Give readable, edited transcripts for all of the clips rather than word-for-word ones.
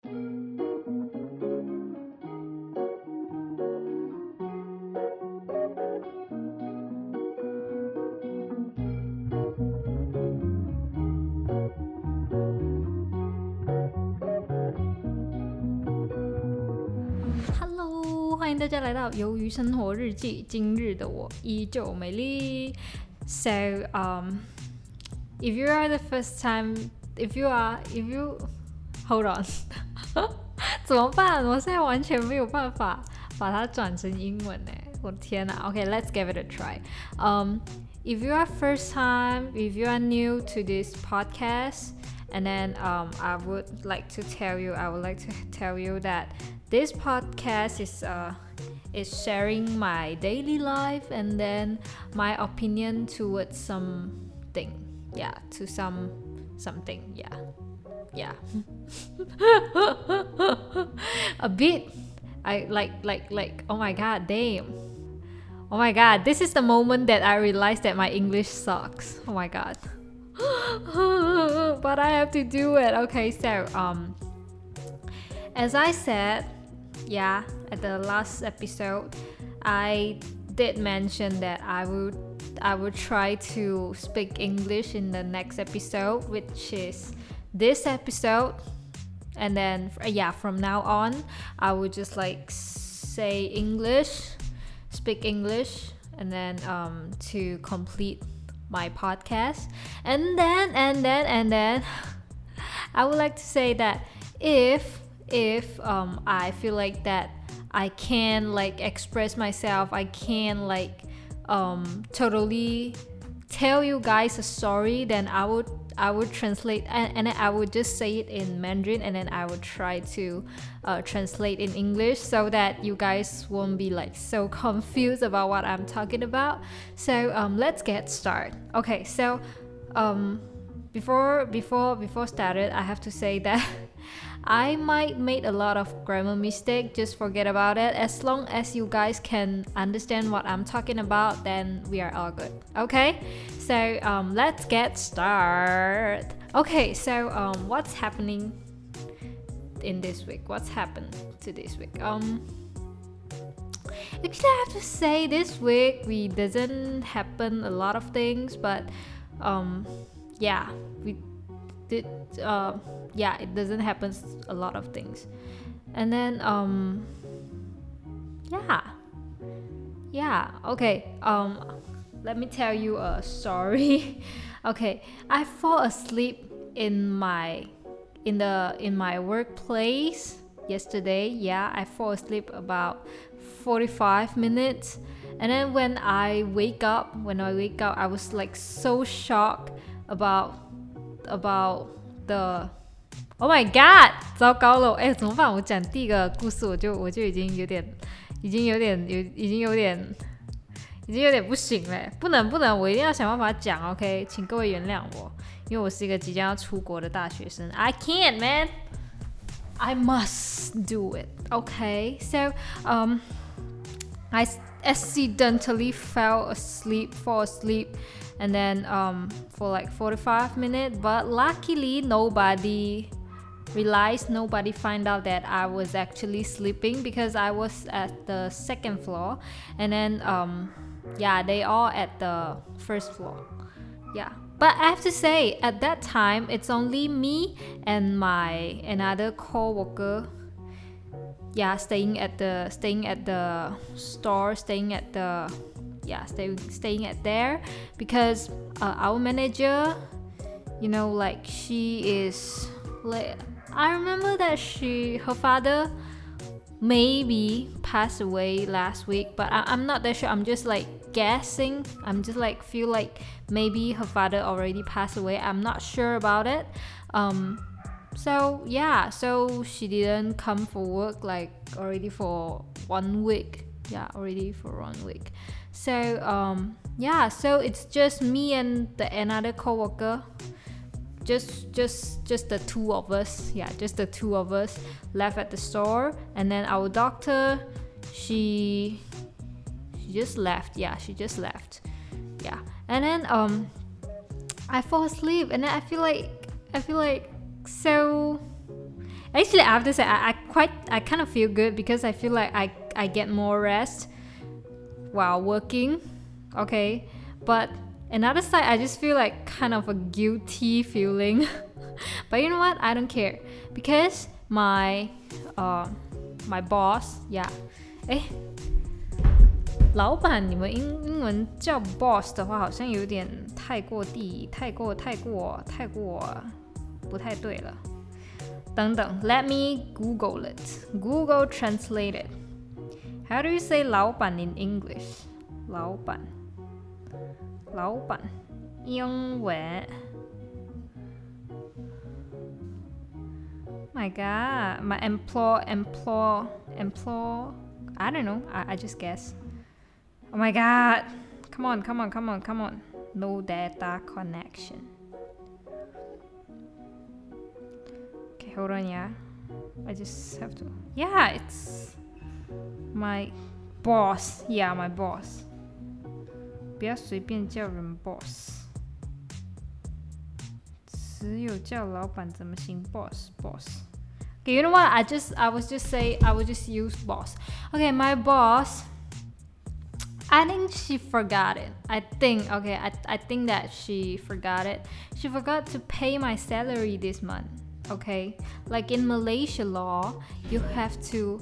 Hello， 欢迎大家来到鱿鱼生活日记。今日的我依旧美丽。So, if you are the first time, if you hold on， 怎么办？我现在完全没有办法把它转成英文呢。我的天哪 ！Okay, let's give it a try. If you are first time, if you are new to this podcast, and then I would like to tell you that this podcast is sharing my daily life and then my opinion towards something. Yeah, to something. Yeah. A bit. I like. Oh my god, damn. Oh my god, this is the moment that I realized that my English sucks. Oh my god. But I have to do it. Okay, so as I said, at the last episode, I did mention that I would try to speak English in the next episode, which is this episode. And then from now on, I would just like say English, speak English, and then to complete my podcast. And then I would like to say that if I feel like that I can like express myself, I can like totally tell you guys a story, then I would translate and then I would just say it in Mandarin, and then I would try to translate in English so that you guys won't be like so confused about what I'm talking about. So let's get started. Okay, so before started, I have to say that I might make a lot of grammar mistake. Just forget about it. As long as you guys can understand what I'm talking about, then we are all good. Okay, so let's get started. Okay, so what's happening in this week? What's happened to this week? Actually, I have to say this week we doesn't happen a lot of things, but we did it doesn't happen a lot of things. And then okay, let me tell you a story. Okay, I fall asleep in my workplace yesterday. I fall asleep about 45 minutes, and then when I wake up I was like so shocked about the Oh my god 糟糕了怎么办我讲第一个故事我就已经有点不行了不能我一定要想办法讲 OK 请各位原谅我因为我是一个即将要出国的大学生 I can't man I must do it Okay so I accidentally fall asleep and then for like 45 minutes but luckily nobody find out that I was actually sleeping because I was at the second floor and then they all at the first floor but I have to say at that time it's only me and my another co-worker staying at the store staying at there because our manager like she is like I remember that her father maybe passed away last week but I'm not that sure I'm just like guessing I'm just like feel like maybe her father already passed away I'm not sure about it so she didn't come for work like already for 1 week so so it's just me and another co-worker just the two of us left at the store and then our doctor she just left and then I fall asleep and then I feel like so Actually, I have to say, I kind of feel good because I feel like I get more rest while working, okay? But another side, I just feel like kind of a guilty feeling. But you know what? I don't care because my boss, yeah. 老板，你们英文叫 boss 的话，好像有点太过不太对了。等等 ，Let me Google it. Google translate it. How do you say 老板 in English? 老板，英文。My God, my employ. I don't know. I just guess. Oh my God. Come on. No data connection. Okay, hold on, yeah. I just have to. Yeah, it's my boss. Yeah, my boss. 不要随便叫人 boss. 只有叫老板怎么行 boss. Okay, you know what? I would just use boss. Okay, my boss. I think she forgot it. I think that she forgot it. She forgot to pay my salary this month. Okay, like in Malaysia law, you have to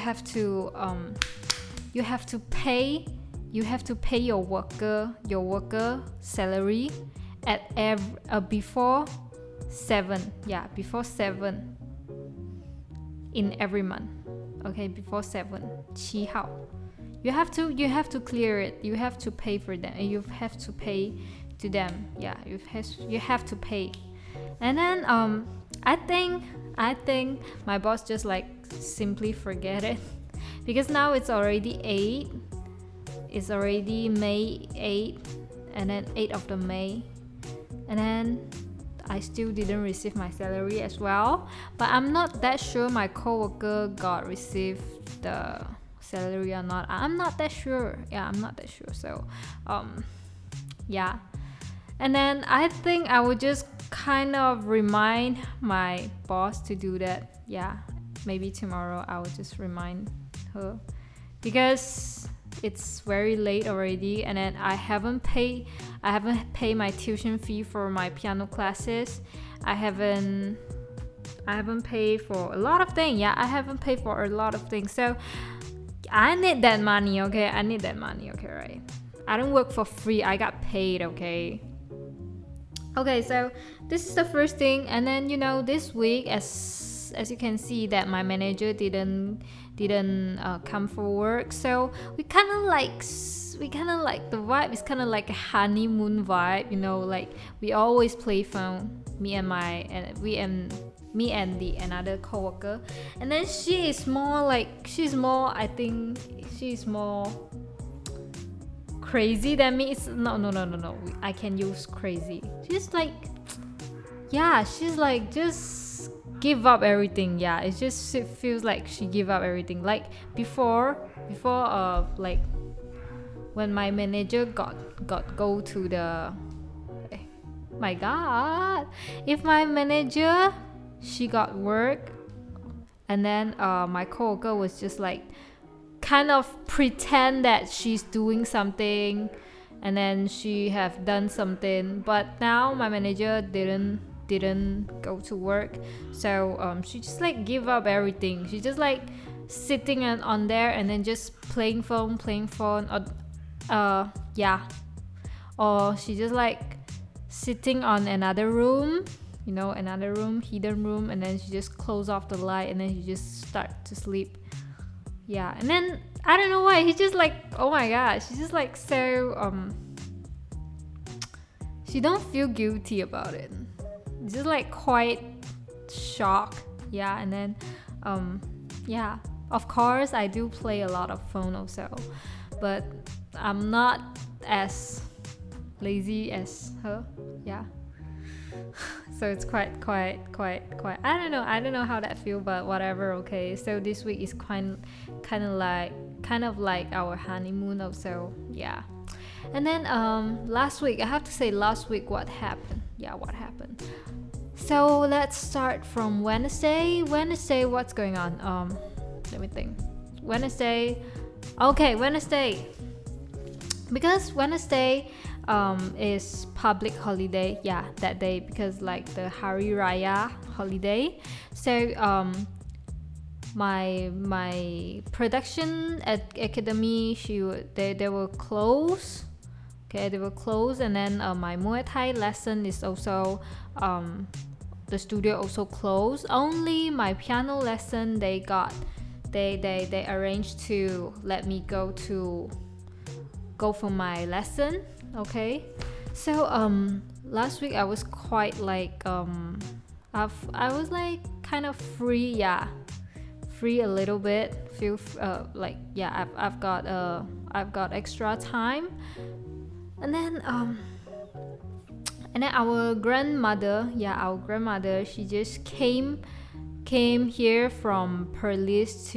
pay your worker salary at before 7. Yeah, before 7 in every month. Okay, before 7 7号. You have to clear it. You have to pay for them. You have to pay to them. Yeah, you have to pay. And then I think my boss just like simply forget it because now it's already 8. It's already May 8, and then 8th of the May, and then I still didn't receive my salary as well. But I'm not that sure my coworker received the salary or not. I'm not that sure. Yeah, I'm not that sure. So, yeah. And then I think I would just kind of remind my boss to do that. Yeah, maybe tomorrow I will just remind her because it's very late already, and then I haven't paid my tuition fee for my piano classes. I haven't paid for a lot of things. Yeah, I haven't paid for a lot of things. So I need that money, okay? Okay, right? I don't work for free. I got paid, okay? Okay, so this is the first thing, and then this week, as you can see, that my manager didn't come for work, so we kind of like the vibe is kind of like a honeymoon vibe, like we always play phone, me and the another coworker, and then she's more I think she's more crazy than me. It's no, I can use crazy. She's like just give up everything. Yeah, it feels like she give up everything. Like before like when my manager got go to the my God, if my manager she got work, and then my coworker was just like kind of pretend that she's doing something, and then she have done something, but now my manager didn't go to work, so she just like give up everything. She just like sitting on there and then just playing phone, or she just like sitting on another room, hidden room, and then she just close off the light and then she just start to sleep. Yeah, and then I don't know why, he just like, oh my God, she's just like so she don't feel guilty about it. Just like quite shocked. Yeah, and then yeah, of course I do play a lot of phone also, but I'm not as lazy as her. Yeah. So it's quite I don't know how that feel, but whatever. Okay, so this week is kind of like our honeymoon also. Yeah. And then last week, I have to say, what happened. so let's start from Wednesday. Wednesday, what's going on? Let me think. Wednesday. Okay, Wednesday. Because Wednesday is public holiday, that day, because like the Hari Raya holiday. So my production academy, they will close. Okay, they will close, and then my Muay Thai lesson is also the studio also closed. Only my piano lesson they arranged to let me go for my lesson. Okay, so last week I was quite like I was like kind of free a little bit. Feel like I've got extra time. And then our grandmother, she just came here from Perlis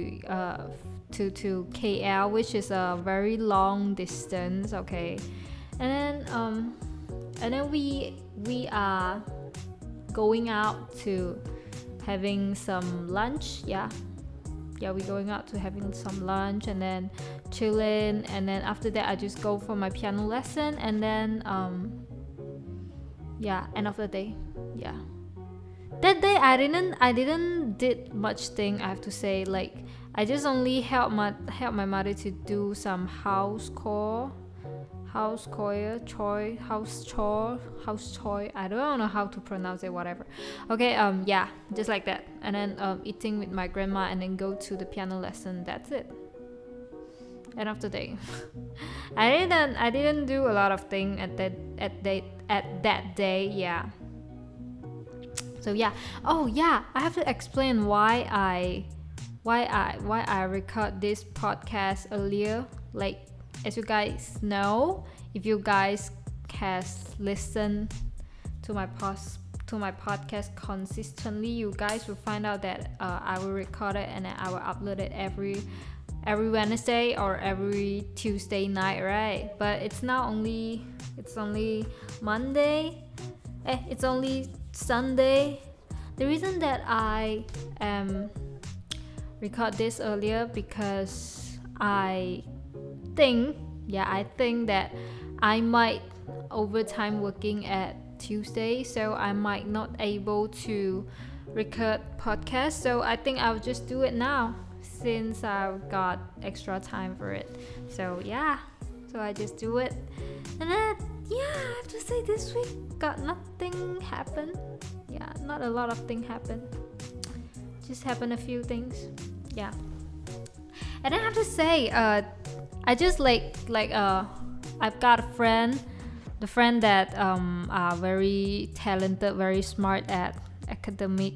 to KL, which is a very long distance. Okay, and then we are going out to having some lunch. We're going out to having some lunch and then chilling, and then after that I just go for my piano lesson, and then end of the day. That day I didn't did much thing, I have to say. Like I just only help my mother to do some house chore. I don't know how to pronounce it, whatever. Okay, just like that. And then eating with my grandma, and then go to the piano lesson. That's it. End of the day. I didn't do a lot of things at that day. So I have to explain why I record this podcast earlier. Like, as you guys know, if you guys has listened to my podcast consistently, you guys will find out that I will record it and then I will upload it every Wednesday or every Tuesday night, right? But it's only Monday. It's only Sunday. The reason that I record this earlier because I think that I might overtime working at Tuesday, so I might not able to record podcast. So I think I'll just do it now since I've got extra time for it. So I just do it. And then I have to say this week got nothing happen. Not a lot of things happen. Just happened a few things. And I have to say I just I've got a friend, the friend that are very talented, very smart at academic.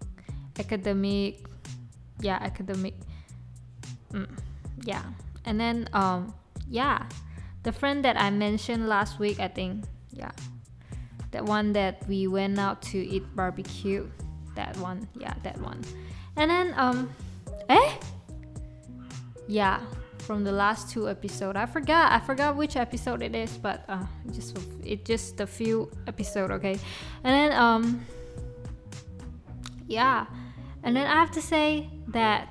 And then the friend that I mentioned last week, I think, that one that we went out to eat barbecue, that one. And then from the last 2 episodes, I forgot which episode it is, but just a few episodes, okay. And then and then I have to say that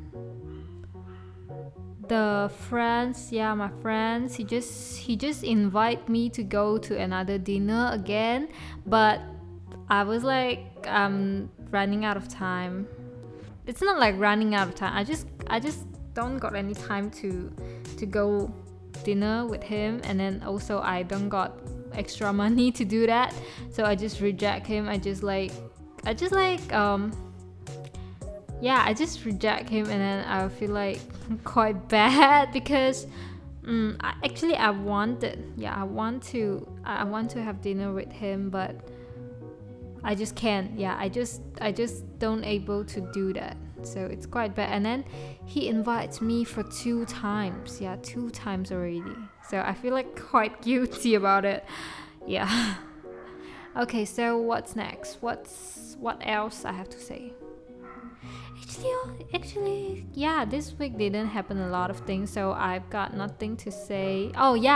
the friends, my friends, he just invite me to go to another dinner again, but I was like, I'm running out of time. It's not like running out of time. I just don't got any time to go dinner with him, and then also I don't got extra money to do that, so I just reject him. I just reject him, and then I feel like quite bad because I want to have dinner with him, but I just can't. I just don't able to do that, so it's quite bad. And then he invites me for 2 times. 2 times already, so I feel like quite guilty about it. Okay, so what's next? What else I have to say? Actually, this week didn't happen a lot of things, so I've got nothing to say.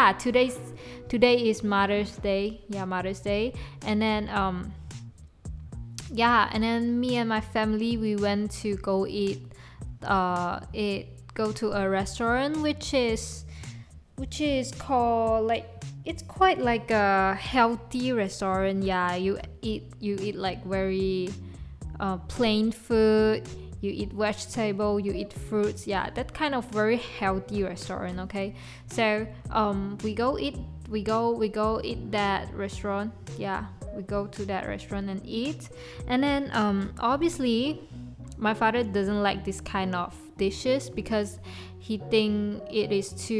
Today is Mother's Day. Mother's Day. And then yeah, and then me and my family, we went to go go to a restaurant which is called, like, it's quite like a healthy restaurant. Yeah, you eat like very plain food, you eat vegetable, you eat fruits. Yeah, that kind of very healthy restaurant. Okay, so we go eat that restaurant. Yeah, we go to that restaurant and eat. And then obviously my father doesn't like this kind of dishes because he think it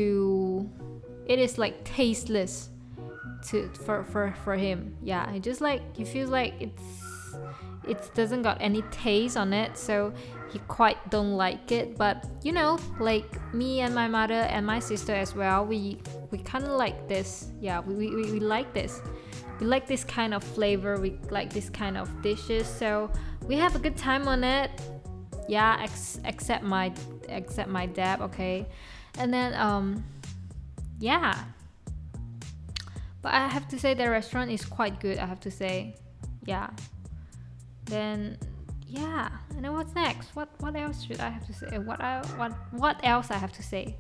is like tasteless for him. Yeah, he feels like it doesn't got any taste on it, so he quite don't like it. But like me and my mother and my sister as well, we kind of like this. Yeah, we like this. We like this kind of flavor, we like this kind of dishes, so we have a good time on it. Yeah, except my dad. Okay, and then yeah, but I have to say the restaurant is quite good, I have to say. Yeah, then yeah, and then what's next? What else should I have to say? What else I have to say?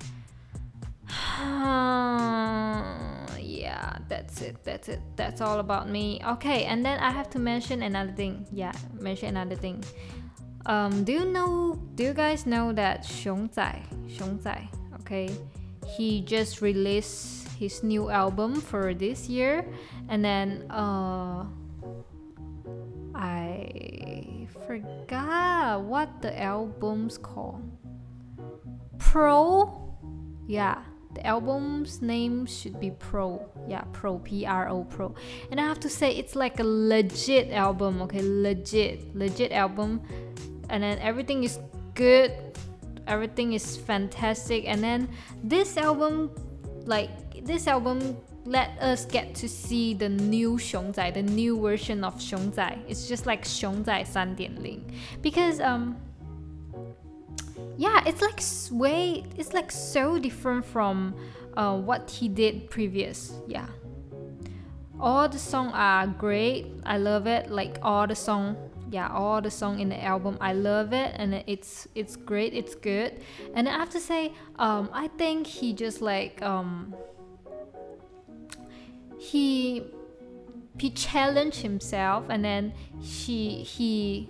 Yeah, that's it. That's all about me. Okay, and then I have to mention another thing. Do you guys know that Xiong Zai, okay, he just released his new album for this year, and then I forgot what the album's called. Pro? Yeah, the album's name should be Pro. Yeah, Pro, Pro, Pro. And I have to say, it's like a legit album. Okay, legit album. And then everything is good, everything is fantastic. And then this album let us get to see the new Xiong Zai, the new version of Xiong Zai. It's just like Xiong Zai 3.0, because yeah, it's like so different from what he did previous. Yeah, all the songs are great, I love it. Like all the song in the album, I love it, and it's great, it's good. And I have to say, I think he just like he challenged himself, and then he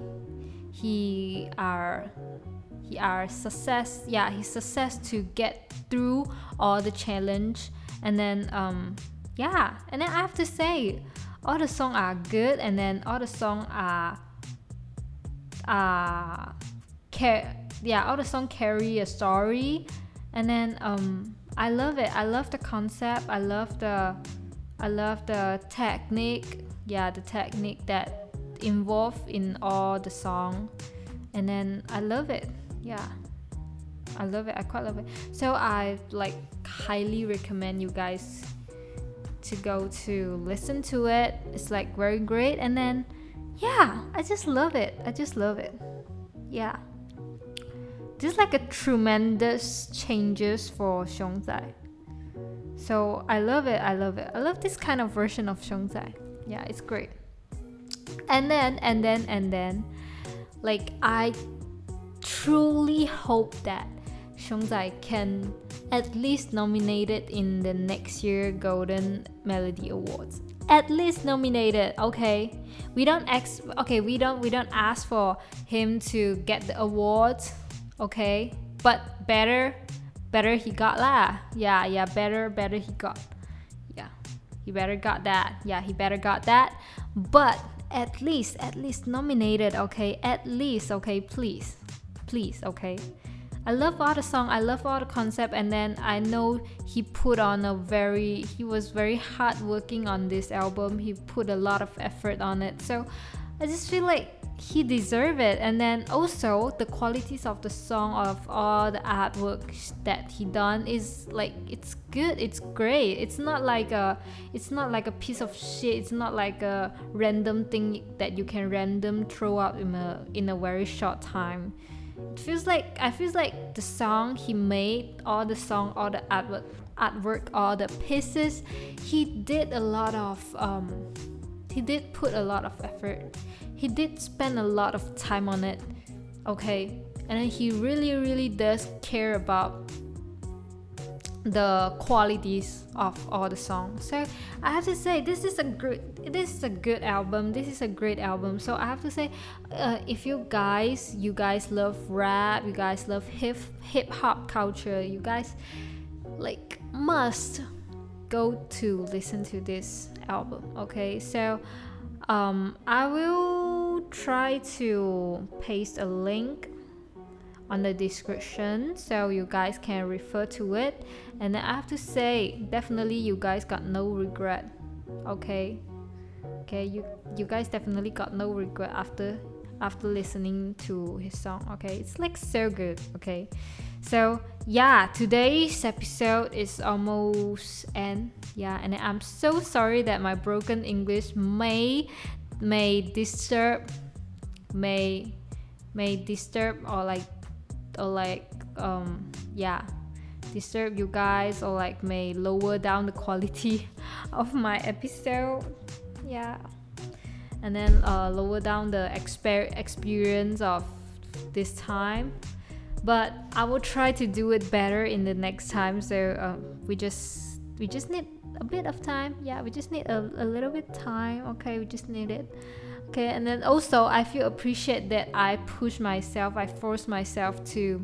success to get through all the challenge. And then yeah, and then I have to say, all the songs are good, and then all the songs all the songs carry a story. And then I love it. I love the concept. I love the technique. Yeah, the technique that involved in all the song. And then I love it. Yeah, I love it. I quite love it. So I like highly recommend you guys to go to listen to it. It's like very great. And then yeah, I just love it. Yeah, this is like a tremendous changes for Xiong Zai. So I love it. I love this kind of version of Xiong Zai. Yeah, it's great. And then like, I truly hope that Xiong Zai can at least nominated in the next year Golden Melody Awards. At least nominated, okay? We don't ask for him to get the awards, okay? But better he got lah. Yeah, better he got. Yeah, he better got that. Yeah, he better got that. But at least nominated, okay? At least, okay? Please, okay? I love all the song, I love all the concept, and then I know he was very hard working on this album. He put a lot of effort on it, so I just feel like he deserves it. And then also the qualities of the song, of all the artwork that he done, is like, it's good, it's great. It's not like a piece of shit. It's not like a random thing that you can random throw out in a very short time. I feel like the song he made, all the artwork, all the pieces, he did a lot of he did put a lot of effort. He did spend a lot of time on it. Okay, and then he really does care about the qualities of all the songs. So I have to say this is a good album. This is a great album. So I have to say, if you guys love rap, you guys love hip hop culture, you guys like must go to listen to this album. Okay, so I will try to paste a link on the description so you guys can refer to it. And then I have to say, definitely you guys got no regret. Okay, you guys definitely got no regret after listening to his song. Okay, it's like so good. Okay, so yeah, today's episode is almost end. Yeah, and I'm so sorry that my broken English may disturb disturb you guys, or like may lower down the quality of my episode. Yeah, and then lower down the experience of this time, but I will try to do it better in the next time. So we just need a bit of time. Yeah, we just need a little bit time. Okay, we just need it. Okay, and then also I feel appreciate that I force myself to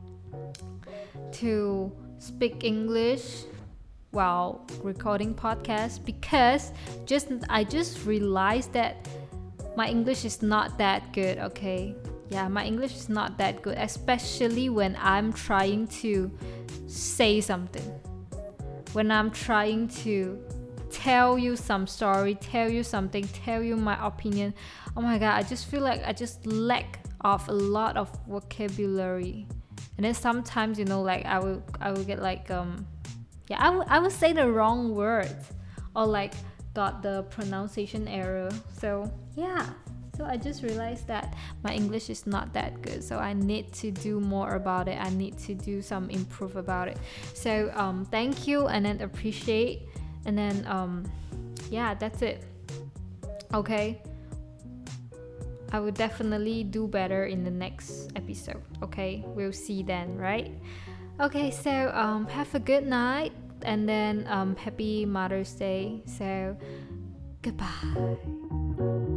speak English while recording podcasts, because I just realized that my English is not that good. Okay, yeah, my English is not that good, especially when I'm trying to say something, when I'm trying to tell you some story, tell you something, tell you my opinion. Oh my god, I just feel like I just lack of a lot of vocabulary. And then sometimes, like I will get like I will say the wrong words, or like got the pronunciation error. So yeah, so I just realized that my English is not that good, so I need to do more about it. I need to do some improve about it. So thank you, and then appreciate, and then yeah, that's it. Okay, I will definitely do better in the next episode. Okay, we'll see then, right? Okay, so have a good night, and then happy Mother's Day. So goodbye.